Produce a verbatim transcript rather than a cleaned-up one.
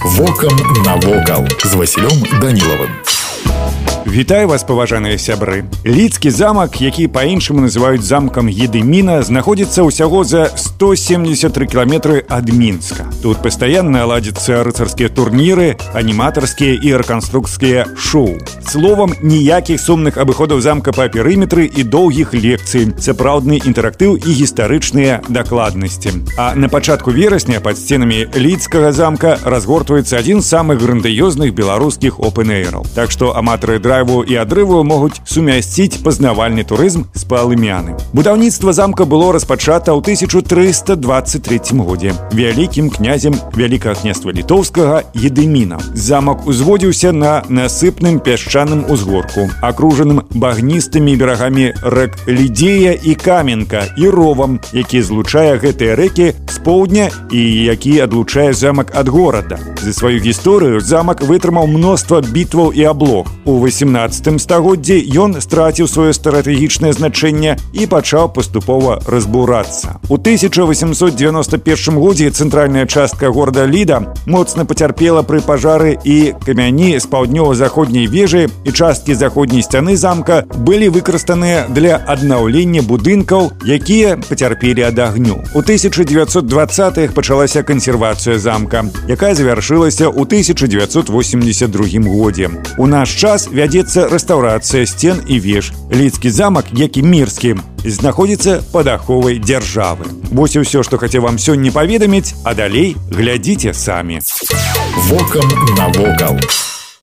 Вокам навокал з Васілём Данілавым. Вітаю вас, паважаныя сябры. Лідскі замак, які па-іншаму называюць замкам Едыміна, знаходзіцца ўсяго за сто семьдесят три кіламетры ад Мінска. Тут пастаянна ладзяцца рыцарскія турніры, аніматарскія і рэканструкцкія шоу. Словам, ніякіх сумных абыходаў замка па перыметры і доўгіх лекцый, сапраўдны інтэрактыў і гістарычныя дакладнасці. А на пачатку верасня пад сценамі лідскага замка разгортваецца адзін з самых грандыёзных беларускіх опэн-эйраў. Так што аматары драйву і адрыву могуць сумясціць пазнавальны турызм з палымяны. Будаўніцтва замка было распачата ў тысяча трыста дваццаць трэцім годзе вялікім князем Вялікага княства літоўскага Едыміна. Замак узводзіўся на насыпным пясчаным узгорку, акружаным багністымі берагамі рэк Лідзея і Каменка і ровам, які злучае гэтыя рэкі з поўдня і які адлучае замак ад горада. За сваю гісторыю замак вытрымаў мноства бітваў і аблог. У васемнаццатым стагоддзі ён страціў сваё стратэгічнае значэнне і пачаў паступова разбурацца. У тысяча восемьсот девяносто первым годзе цэнтральная частка горада Ліда моцна пацярпела пры пажары і камяні з паўднёва-заходняй вежы і часткі заходняй сцяны замка былі выкарыстаныя для аднаўлення будынкаў, якія пацярпелі ад агню. У тысяча девятьсот двадцатых пачалася кансервацыя замка, якая завяршылася ў тысяча девятьсот восемьдесят другім годзе. У наш час вядзецца рэстаўрацыя сцен і веж. Лідскі замак, як і мірскі, знаходзіцца пад аховай дзяржавы. Вось і ўсё, што хацеў вам сёння паведаміць, а далей глядзіце самі. Вокам навокал.